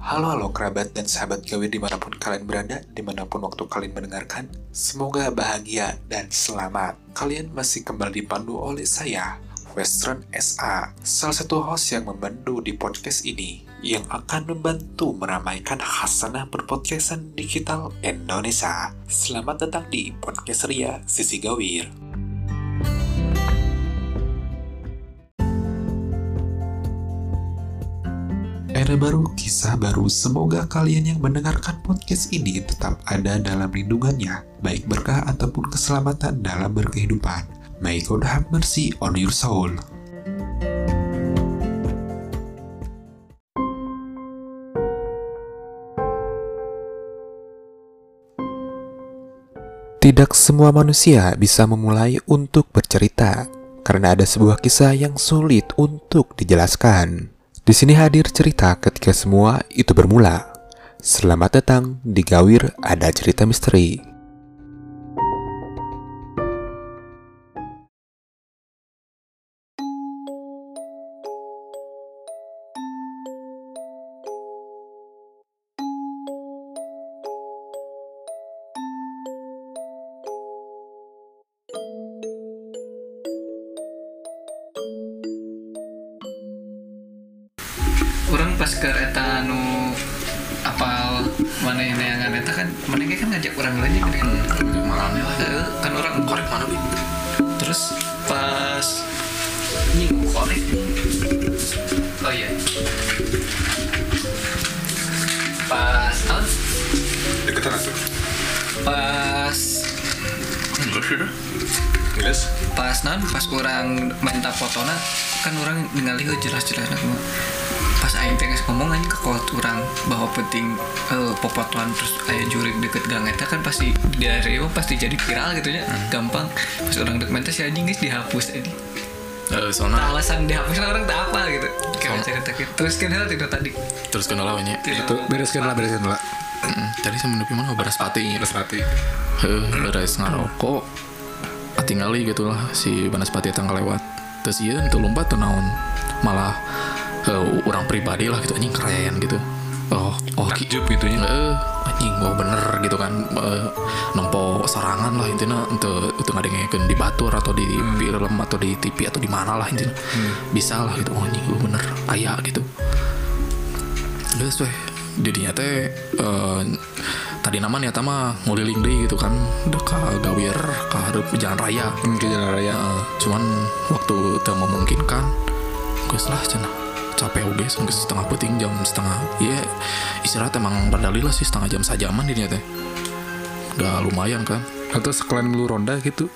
Halo kerabat dan sahabat Gawir dimanapun kalian berada, dimanapun waktu kalian mendengarkan. Semoga bahagia dan selamat. Kalian masih kembali dipandu oleh saya, Western SA, salah satu host yang membantu di podcast ini, yang akan membantu meramaikan khasanah berpodcastan digital Indonesia. Selamat datang di Podcast Ria Sisi Gawir. Era baru, kisah baru. Semoga kalian yang mendengarkan podcast ini tetap ada dalam lindungannya, baik berkah ataupun keselamatan dalam berkehidupan. May God have mercy on your soul. Tidak semua manusia bisa memulai untuk bercerita, karena ada sebuah kisah yang sulit untuk dijelaskan. Di sini hadir cerita ketika semua itu bermula. Selamat datang di Gawir Ada Cerita Misteri. Orang pas ke eta nu apal mana yang eta kan mana kan ngajak orang lain kan malamnya lah kan orang korek mana bi terus pas nying korek oh iya pas deketan atuh pas enggak sih dah geus pas orang minta fotona kan orang ningali jelas-jelas semua pas aing teh ngomong aja ke kawan orang bahwa penting popotoan terus aya jurig deket gang eta kan pasti dari pasti jadi viral gitu ya gampang pas orang dek mentas si anjing geus dihapus tadi soalnya alasan dihapus orang tak apa gitu kayak cerita gitu terus kan itu tadi terus kenal lawannya Itu bereskan lah. tadi sama nepi mana beras pati beres ngarokok tinggali gitulah si Banaspati eta ngalewat terus ieu teu lompat teu naon malah orang pribadi lah gitu anjing keren gitu oh Takjub gitu ya. anjing bener gitu kan nempo sarangan lah intinya untuk ngadengekeun di batur atau di film atau di TV atau di mana lah intinya bisa lah gitu anjing bener aya gitu geus weh didinya teh tadi namanya nyata mah nguliling deui gitu kan ka Gawir ka hareup jalan raya Ke jalan raya. cuman waktu teu memungkinkan geus lah cenah capek oge setengah penting jam setengah iya istirahat emang berdalil lah sih setengah jam sajaman dirinya teh udah lumayan kan Atau sekalian lu ronda gitu.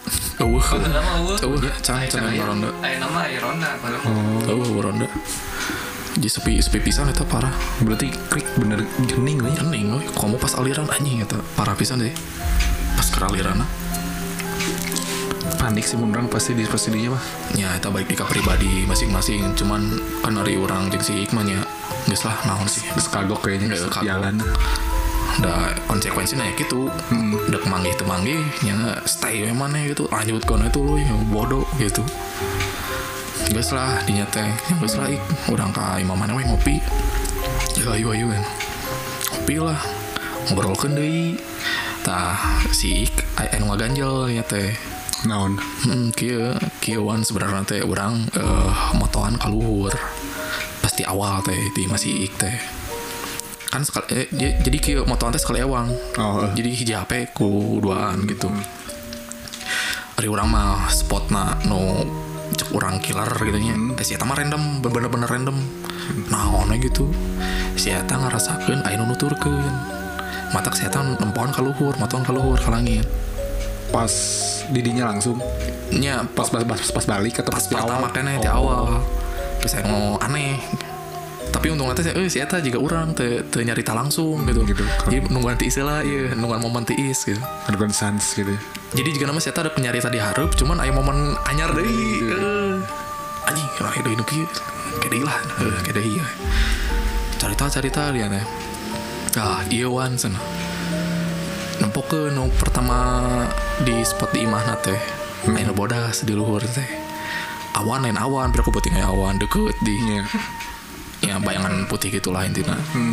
Can ronda nama ronda ronda jadi sepi pisan eta parah Berarti krik bener jening lah ya. hening kamu pas aliran anjing eta parah pisan deh pas ke aliran Panik sih menurang pasti dinya mah. ya eta baik di ka pribadi masing-masing cuman kan dari orang jeung si Iqman nya geus lah naon sih Terus kagok kayaknya Kagok. jalan. da konsekuensinya ya gitu udah kemanggih temanggih nya stay we maneh gitu lanjut kono itu lu ya bodoh gitu geus lah dinya teh geus lah urang ka imam maneh we ngopi ya ayo kan ngopi lah ngobrolkeun deui tah si anu ngaganjel nya teh Naon? kieu wan sebenarnya teh urang motoan kaluhur pasti awal teh di masih ik teh kan sekali jadi kieu motoan teh sekali ewang jadi hiji HP ku duaan gitu ari urang mah spotna nu cek urang killer gitu nya si eta mah random bener-bener random naon gitu si eta ngarasakeun aya nu nuturkeun matak si eta nempoan kaluhur motoan kaluhur ka langit Pas didinya langsung. nya Pas balik atau pas di awal. pertama kene di awal terus saya mau aneh tapi untungnya teh si eta juga urang teu nyarita langsung gitu jadi nungguan ti istilah ieu nungguan momen tiis gitu Ada sans gitu. jadi juga nama si eta ada penyarita di hareup cuman aya momen anyar deui anjing orang deui nu kieu kedeui lah kedeui carita dia teh ieu wan cenah nempokeun nu pertama di spot di imahna teh aya bodas di luhur teh lain awan, biar aku putih kayak awan deket di ya bayangan putih gitulah intinya.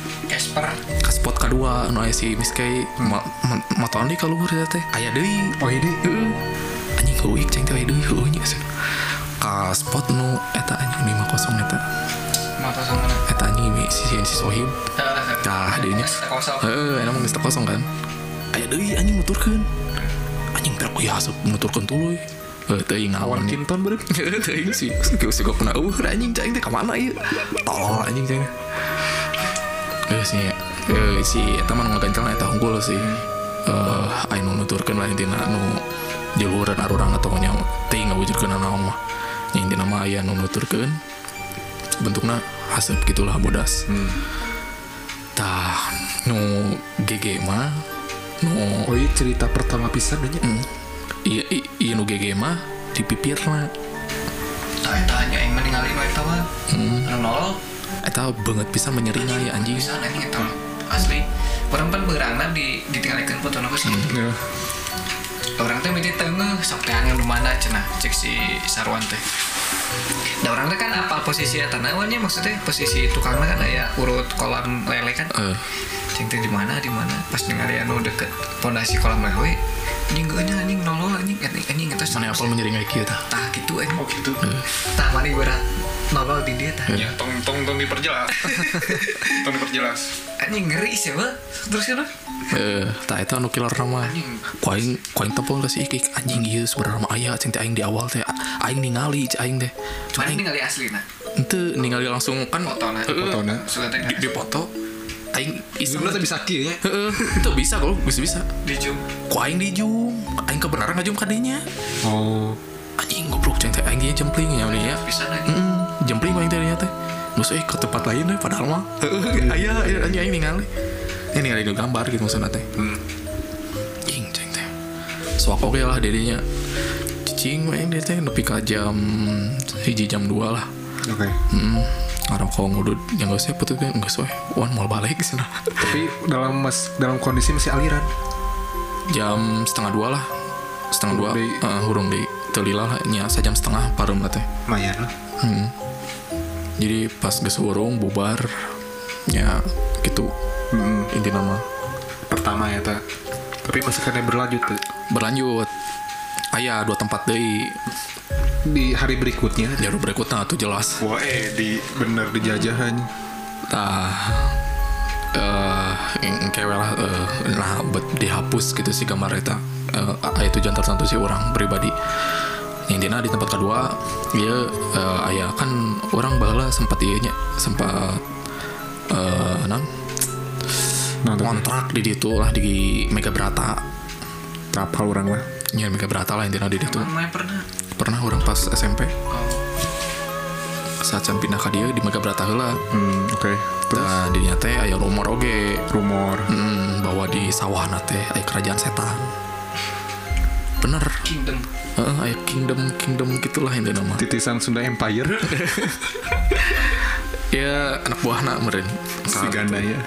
Casper ke spot kedua anu aya si Miskay motoran di keluar teh aya deui Oh ini anjing heuik ceng teh aya deui heuh nya ka spot nu eta anjing 50 eta motor sama mana eta anjing si Sohib tah dinya enak mah geus kosong kan aya deui anjing nuturkeun anjing berak ya asup nuturkeun tuluy teuing awan kinton bener. teuing si gua pernah anjing ceng teh ka mana ieu tolol anjing ceng si eta mah ngagancang eta unggul sih anu nuturkeun lah intina nu juluran arurang atau nya teuing ngawujudkeun naon mah nya intina mah aya nu nuturkeun bentukna haseup gitulah bodas tah nu GG mah nu Oh iya cerita pertama pisan aja. iya nu GG mah dipipirna eta nya aing mah ningali nu eta mah anu nolol eta beungeut pisan menyeringa ya anjing pisan anjing eta asli urang pan beurangna ditinggalikeun fotona geus Iya. orang teh miti teungeuh sok teh anu mana cenah cek si Sarwan teh da urang teh kan apal posisi eta naon nya maksudnya posisi tukangna kan aya urut kolam lele kan ceng teh di mana pas ningali anu deket pondasi kolam lele anjing geunya anjing nolol anjing eta mana apal menyeringa kieu tah tah gitu anjing Oh gitu. tah mani berat nolol di dia tah Ya tong diperjelas. Tong diperjelas. anjing ngeri sih mah terus kan tah eta anu killer nama kuaing tepol si ikik anjing ieu sebenarnya mah aya cing teh aing di awal teh aing ningali cing aing teh mana ningali aslina henteu ningali langsung kan fotona di foto aing iseng Sebenarnya bisa kieu nya. itu bisa kok bisa di zoom ku aing di zoom aing kebenaran ngajum kadenya Oh. anjing goblok cing teh aing dia jempling nya nya bisa anjing jempling aing teh teh terus ke tempat lain deh padahal mah aya anjing aing ningali ini ningali di gambar gitu maksudna teh cing teh sok oke lah dedinya cicing aing dia teh nepi ka jam 1 jam 2 lah Oke. Orang kau ngudut yang gak usah betul kan gak usah wan mau balik sana Tapi dalam kondisi masih aliran. jam 1:30 lah 1:30 hurung di telila lah nya sajam setengah parum teh Lumayan lah. jadi pas geus hurung bubar nya gitu inti nama Pertama ya ta. Tapi masih kena berlanjut tuh. berlanjut aya 2 tempat deui Di hari berikutnya. jalur berikutnya tuh jelas Wah bener dijajahan. tah kewe lah nah buat dihapus gitu sih gambar eta aya tujuan tertentu sih orang pribadi intinya di tempat kedua dia aya kan orang baheula sempat ieu nya sempat kontrak di ditu lah di Mega Brata Apa orang lah. nya Mega Brata lah intinya di ditu main pernah orang pas SMP saat jam pindah ka dieu di Mega Brata heula Oke. Terus nah di dinya teh aya rumor oge rumor. bahwa di sawah teh aya kerajaan setan bener kingdom aya kingdom gitulah ini nama Titisan Sunda Empire. ya anak buahna meureun Si ganda ya.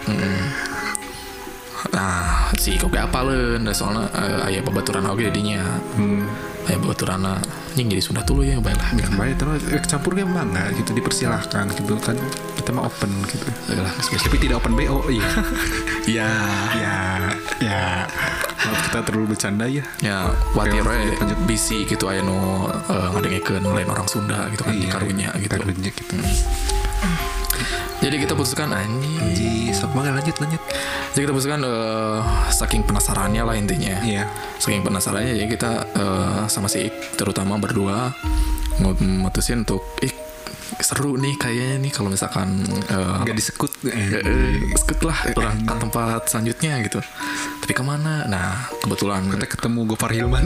nah si kok gak apaleun da soalna aya babaturan oge dinya aya babaturanna anjing jadi Sunda tuluy ya bae lah Baik terus campur game mangga gitu dipersilahkan gitu kan kita mah open gitu. lah Tapi tidak open BO iya. ya Ya. Maaf kita terlalu bercanda ya. ya watir we lanjut. bisi gitu aya nu ngadengekeun lain orang Sunda gitu kan di karunya gitu Karunya gitu. jadi kita putuskan anjing Sok mangga lanjut. jadi kita putuskan saking penasarannya lah intinya Iya. saking penasarannya jadi kita sama si Ik terutama berdua mutusin untuk seru nih kayaknya nih kalau misalkan Gak disekut. sekut lah orang ke tempat selanjutnya gitu tapi kemana nah kebetulan Kita ketemu Gofar Hilman.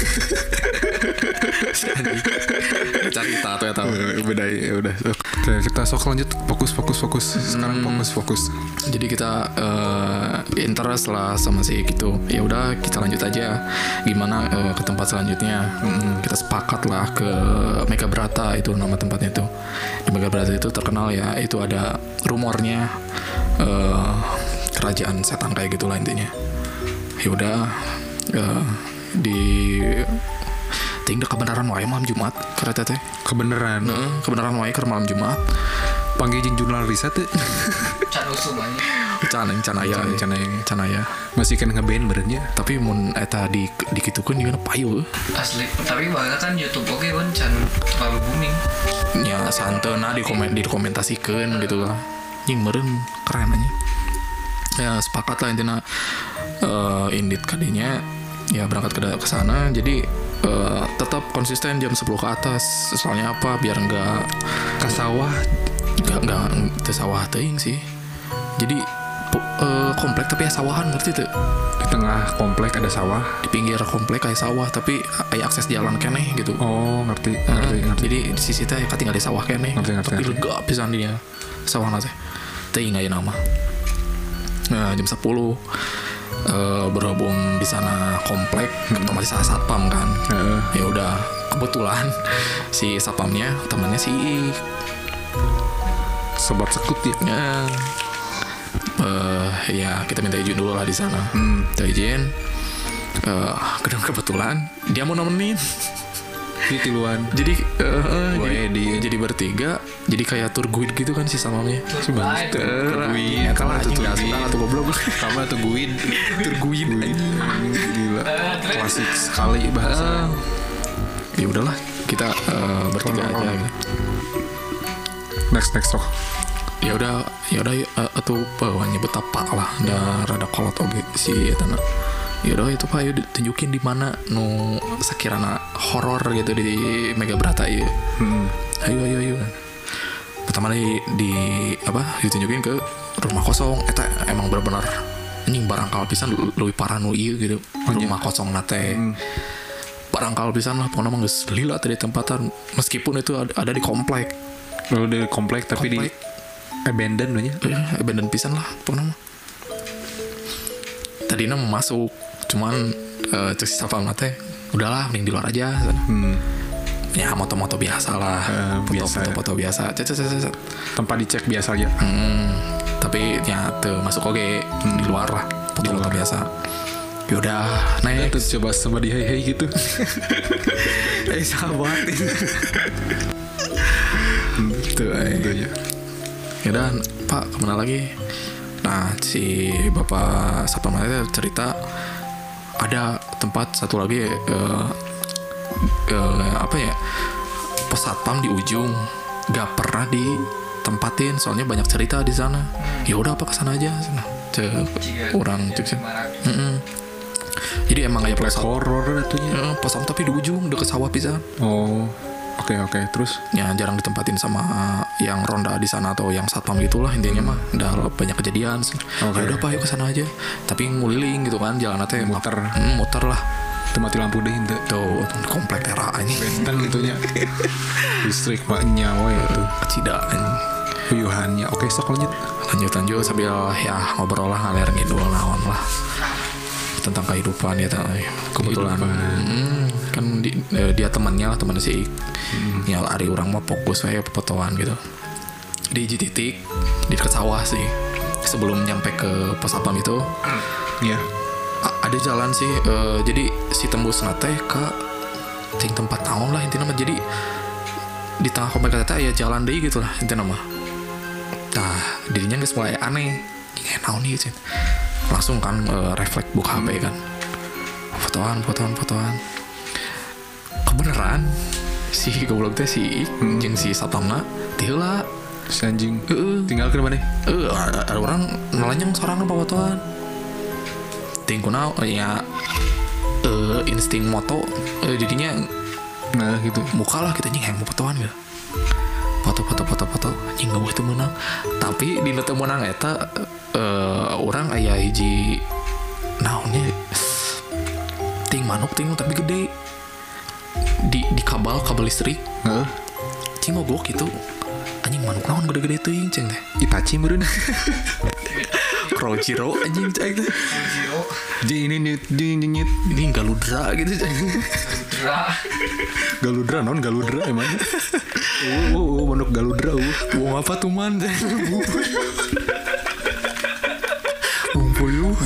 cerita tuh ya tahu Beda ya udah. Oke, kita sok lanjut fokus. Sekarang fokus. jadi kita interest lah sama si gitu ya udah kita lanjut aja gimana ke tempat selanjutnya kita sepakat lah ke Mega Brata itu nama tempatnya itu di Mega Brata itu terkenal ya itu ada rumornya kerajaan setan kayak gitulah intinya ya udah di tinggal kebenaran wae malam Jumat kereta teh Kebenaran. kebenaran wae ke malam Jumat panggil jeung jurnal riset teh. Can usum aja. Canaya. Masih kan ngeband berenya. Tapi mun eta dikitukeun juga payu. Asli. Tapi bahkan kan YouTube oke kan can terlalu booming. Ya santeuna dikomentasikan gitu lah. Nying meureun keren aja. Ya sepakat lah intinya indit kadinya ya berangkat ke sana jadi tetap konsisten jam 10 ke atas. Soalnya apa? Biar enggak Ke sawah. Enggak teu sawah teuing sih. Jadi komplek tapi ya sawahan ngerti tuh. Di tengah komplek ada sawah. Di pinggir komplek kayak sawah tapi aya akses jalan keneh gitu. Oh, ngerti. Jadi di sisi teh tinggal di sawah keneh. Tapi lega pisan dia sawahna teh. Teuing aya nama. Nah, jam 10 berhubung di sana komplek otomatis ada satpam kan. Ya udah kebetulan si satpamnya temannya si Sobat sekut ya. Ya kita minta izin dulu lah di sana. Minta izin. Kebetulan dia mau nemenin. Di tiluan. Jadi jadi bertiga. Jadi kayak tour guide gitu kan si samamnya. Tungguin. Kalah anjing enggak sudah atau goblok. Kamu tungguin. Tungguin. Gila. Klasik sekali bahasa. Ya udahlah, kita bertiga aja. Next sok. Ya udah atuh bawahnya betapa lah da rada kolot oge si eta na. Ya udah itu Pak, yuk tunjukin di mana nu sakirana horor gitu di Mega Brata ieu. Ayo. Pertama ditunjukin ke rumah kosong. Eta emang benar-benar anjing barangkal pisan leuwih parah nu ieu gitu. Rumah kosong nate. Barangkal pisan lah pokona mah geus lila tadi tempatan meskipun itu ada di komplek. Lalu di komplek tapi di abandon nya. Abandon pisan lah pokona mah. Tadinya mau masuk cuman cek si sapam teh udahlah mending di luar aja. Ya moto-moto biasa lah, foto-foto biasa. Tempat dicek biasa aja. Tapi ya tuh masuk oke di luar lah, foto-foto biasa. Yaudah naik terus coba sama di hey gitu. Sahabat tuh ya. Yaudah Pak kemana lagi? Nah si bapak satpam itu cerita ada tempat satu lagi pos satpam di ujung gak pernah ditempatin soalnya banyak cerita di sana. Ya udah apa kesana aja orang cek. Jadi emang kayak pos horor atunya. Pos satpam tapi di ujung deket sawah pisan. Oh. Oke, terus? Ya jarang ditempatin sama yang ronda di sana atau yang satpam gitulah intinya mah. Udah banyak kejadian. Ya udah Pak, yuk kesana aja. Tapi nguliling gitu kan, jalan nanti muter lah. Mati lampu deh itu. Tuh, komplek era aja. Benteng gitunya. Listrik mak nyawa ya tuh. Kecidaan. Huyuhannya. Oke, sok lanjut sambil ya ngobrol lah ngalir gitu naon lah. Tentang kehidupan ya kebetulan kan dia temannya si ya hari orang mah fokus saya fotoan gitu di titik di dekat sawah sih sebelum nyampe ke pos satpam itu. Ada jalan sih jadi si tembus nate ke tempat tahun lah intinya mah. Jadi di tengah komplek eta ya jalan deh gitu lah intinya mah. Nah dirinya geus mulai aneh kayak naon nih gitu. Langsung kan refleks buka HP kan fotoan kebeneran si goblok teh si jeung si satpamna teu lah si anjing tinggal ke mana ada orang nalanyang sorangan fotoan ting kunaon ya insting moto jadinya nah gitu muka lah kita anjing mau fotoan gitu foto anjing gak boleh menang. Tapi di teu menang eta orang aya hiji naonnya ting manuk tapi gede di kabel listrik. Cing mogok gitu anjing manuk naon gede-gede teuing ceng teh Itachi meureun. Krojiro anjing ceng teh jadi ini galudra gitu ceng. Galudra emang. Manuk galudra. Wong apa tuh man? Puyuh.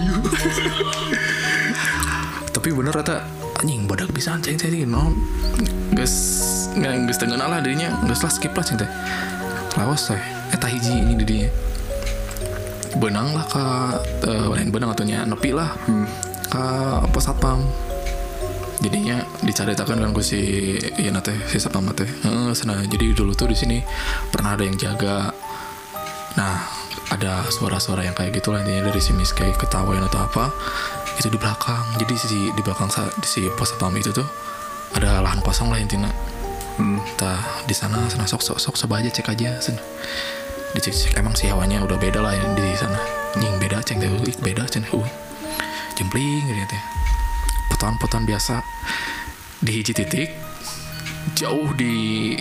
Tapi bener rata anjing badak bisa ceng non. Geus teu ngeunah lah dirinya, geus lah skip lah ceng teh. lawas teh eta hiji ini di dinya benang lah ke lain benang atunya nepi lah ke pos satpam jadinya dicaritakan kan ku si ieu teh si satpam teh sana jadi dulu tuh di sini pernah ada yang jaga. Nah ada suara-suara yang kayak gitu lah intinya dari si Miss kayak ketawain atau apa itu di belakang. Jadi di belakang si pos satpam itu tuh ada lahan kosong lah intinya. Tah di sana sok coba aja cek aja sana. Dicek emang sih hawanya udah beda lah yang di sana. Nying beda ceng teh beda ceng jempling gitu teh. Potongan biasa di hiji titik jauh di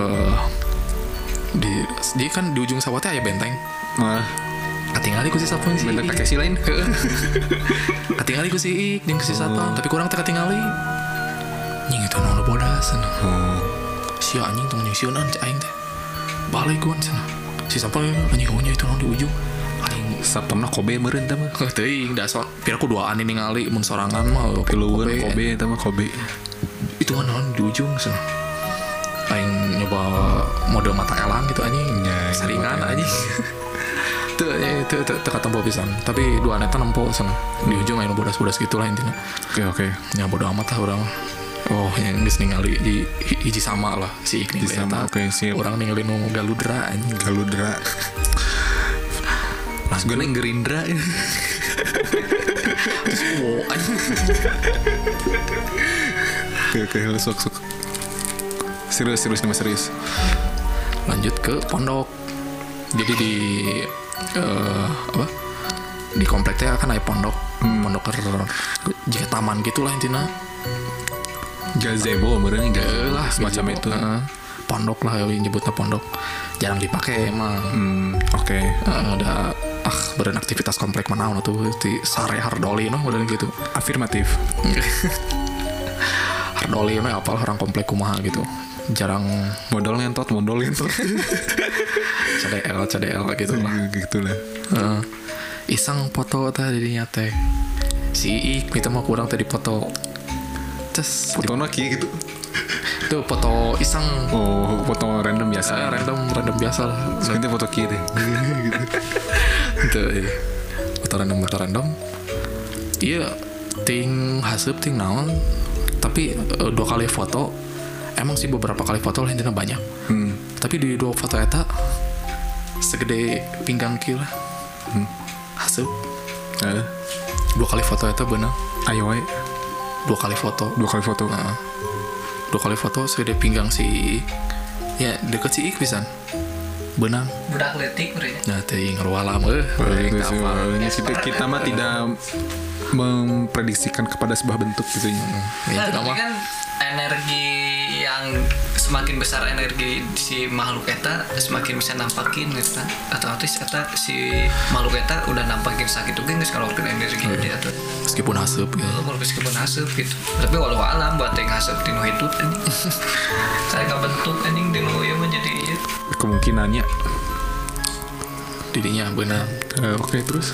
kan di ujung sawah teh aya benteng. Katingali ku si satpam sih. Benteng Takeshi lain. Katingali ku si Ik jeung si satpam tapi kurang teh katingali. Nying itu nu bodas sana. Si anjing tong nying sieunan cai aing teh. Balik gua sana. Si satpam anjing ohnya itu nu di ujung. Aing Satpamna Kobe meureun teh mah. teuing da pira kuduaan ini ningali mun sorangan mah Pilueun Kobe teh mah Kobe. Itu kan di ujung sana. Aing nyoba mode mata elang gitu anjing. Saringan anjing. Itu ketemu pisan. Tapi dua neta nempo sana. Di ujung aya bodas-bodas gitu lah intinya. Oke. Ya bodo amat lah urang. Oh, yang geus ningali di hiji sama lah si Ikni sama. Oke, siap. Urang ningali nu galudra anjing. Galudra. Mas gue neng Gerindra. Oh, anjing. Oke, sok. Serius nih mas serius. Lanjut ke pondok. Jadi di di kompleknya kan ada pondok. Pondok jika taman gitulah intinya. Gazebo meureun lah semacam itu. Pondok lah nyebutnya pondok. Jarang dipakai emang. Oke. Ada beraktivitas komplek manaon tuh di Sare Hardoli noh model gitu. Afirmatif. Hardoli mah apal orang komplek kumaha gitu. Jarang modal ngentot. CDL gitu lah. Gitu lah. Iseng foto tadi dirinya teh. Si Ik minta mau kurang tadi foto. Terus fotonya kayak gitu. Itu foto iseng. Oh, foto random biasa. Random biasa lah. Sebenarnya foto kiri deh. Gitu. Foto random. Iya, ting haseup ting naon. Tapi 2 kali foto. Emang sih beberapa kali foto lah intinya banyak. Tapi di 2 foto eta segede pinggang kieu lah. Haseup. 2 kali foto eta beunang. Ayo we. 2 kali foto. 2 kali foto. 2 kali foto segede pinggang si ya deket si Ik pisan. Benang. Budak letik mereka. Nah, teuing ngarualam kita mah tidak memprediksikan kepada sebuah bentuk gitu ya. Tapi kan energi yang semakin besar energi si makhluk eta semakin bisa nampakin gitu. Otomatis eta si makhluk eta udah nampakin sakit juga geus kalorkeun energi dia tuh. Meskipun haseup gitu. Meskipun haseup gitu. Tapi walau alam buat yang haseup tinu hidup anjing. Saya bentuk anjing dinu ieu mah jadi ieu. Kemungkinannya didinya benar. Oke, terus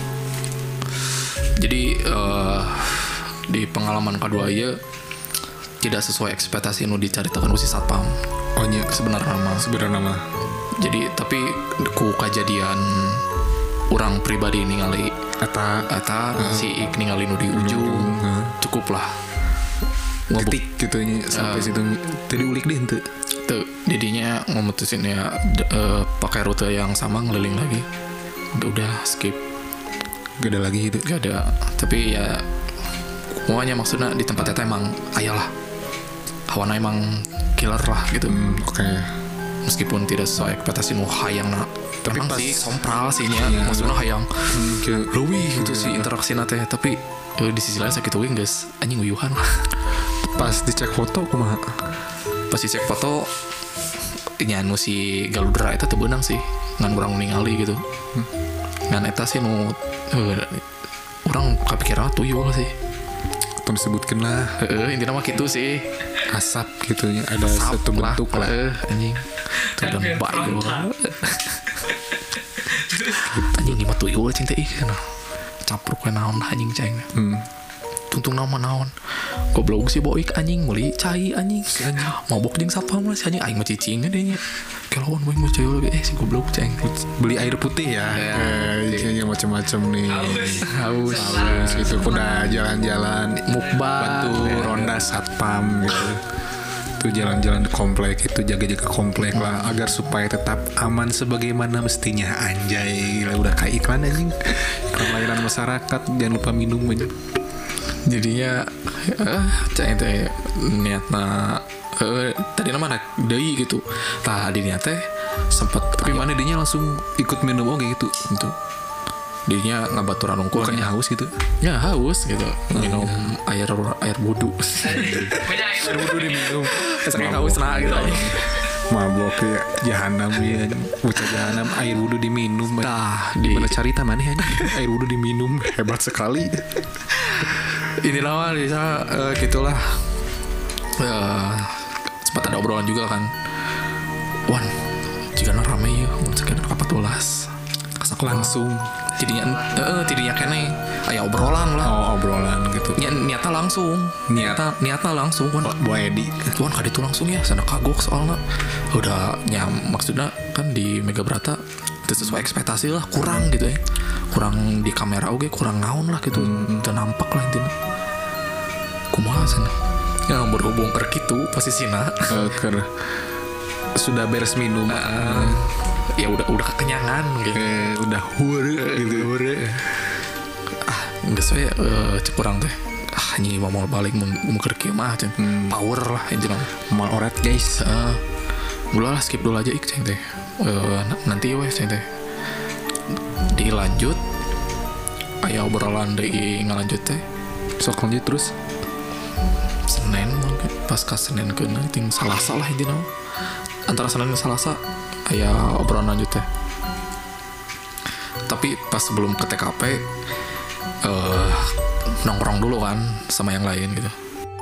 jadi di pengalaman kedua ieu tidak sesuai ekspektasi nu dicaritakan si satpam. Oh nya sebenarnya nama. Jadi tapi ku kejadian orang pribadi ningali eta si Ik ningali nu di ujung cukup lah. Ngetik gitu nya sampai situ tadi ulik deh henteu. Tuh didinya memutusin ya pakai rute yang sama ngeliling lagi. Udah skip. Gak ada lagi itu. Gak ada. Tapi ya pokoknya maksudnya di tempat eta emang ayalah. Hawana emang killer lah gitu. Oke. Meskipun tidak sesuai ekspektasi nu hayang tapi emang sih sompral sih nya maksudnya hayang leuwih gitu sih interaksi teh tapi di sisi lain sakit euy geus anjing uyuhan. Pas dicek foto kumaha? Pas dicek foto nya nu si galudra eta teu beunang sih ngan urang ningali gitu. Ngan eta sih nu urang kapikiran tuyul sih. Atau disebutkeun lah. Intina mah kitu sih. Asap gitu ya ada asap satu bentuk lah. Anjing. Itu dan baik anjing ini mah tuyul cinta ikan capruk we naon anjing ceng. Tuntung nama naon goblok si boik anjing meuli cai anjing mabok jeung satpam lah si anjing aing mah cicing deui nya kelauan boy mau cewek lagi si goblok ceng. Beli air putih ya. Kayaknya macam-macam nih. Haus Itu udah jalan-jalan mukbang bantu ronda satpam gitu. Tuh jalan-jalan di komplek itu jaga-jaga komplek lah agar supaya tetap aman sebagaimana mestinya. Anjay, gila, udah kayak iklan anjing. Iklan layanan masyarakat, jangan lupa minum aja. jadinya ceng teh niatna tadi nama anak deui gitu. Tadi niatnya sempet Tapi mana dinya langsung ikut minum oke gitu. itu dirinya ngabaturan unggul Bukannya haus gitu. ya haus gitu minum air wudhu Banyak Udah diminum. saking haus nah gitu aja. Mabok ya jahanam ya. Bocah jahanam air wudhu diminum. Tah Di di mana cerita mana ya? Air wudhu diminum hebat sekali. ini nama bisa gitulah sempat ada obrolan juga kan. Wan jika rame ya sekitar 14 kasak Langsung. tidinya kene aya obrolan lah. Oh, obrolan gitu. Niatnya langsung niatnya langsung kan. Bu Edi. Tuan kali itu langsung ya sana kagok soalnya udah maksudnya kan di Mega Brata itu sesuai ekspektasi lah kurang gitu ya, kurang di kamera oke kurang naon lah gitu itu nampak lah intinya kumaha sana yang berhubung ke gitu posisinya Sudah beres minum. ya udah kekenyangan gitu Udah hure gitu. nggak sesuai cek kurang teh ini mau balik mau kerja mah ceng power lah intinya Mal orat guys. Gula lah skip dulu aja ceng teh. Nanti weh ceng teh. Dilanjut. Aya obrolan deui ngalanjut teh. Sok lanjut terus. Senin mungkin pas ka Senin ke ting Salasa lah intinya. Antara Senin dan Salasa aya obrolan lanjut teh. Tapi pas sebelum ke TKP nongkrong dulu kan sama yang lain gitu.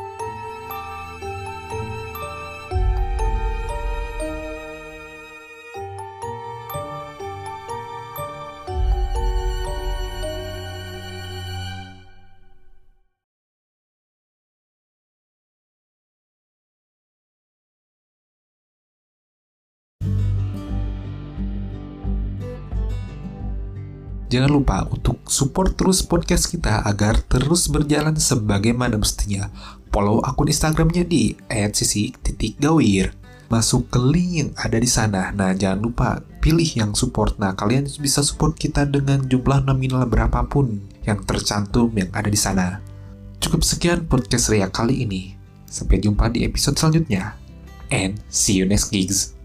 Jangan lupa untuk support terus podcast kita agar terus berjalan sebagaimana mestinya. Follow akun Instagramnya di @sisi_gawir. Masuk ke link yang ada di sana. Nah, jangan lupa pilih yang support. Nah, kalian bisa support kita dengan jumlah nominal berapapun yang tercantum yang ada di sana. Cukup sekian podcast Ria kali ini. Sampai jumpa di episode selanjutnya. And see you next gigs.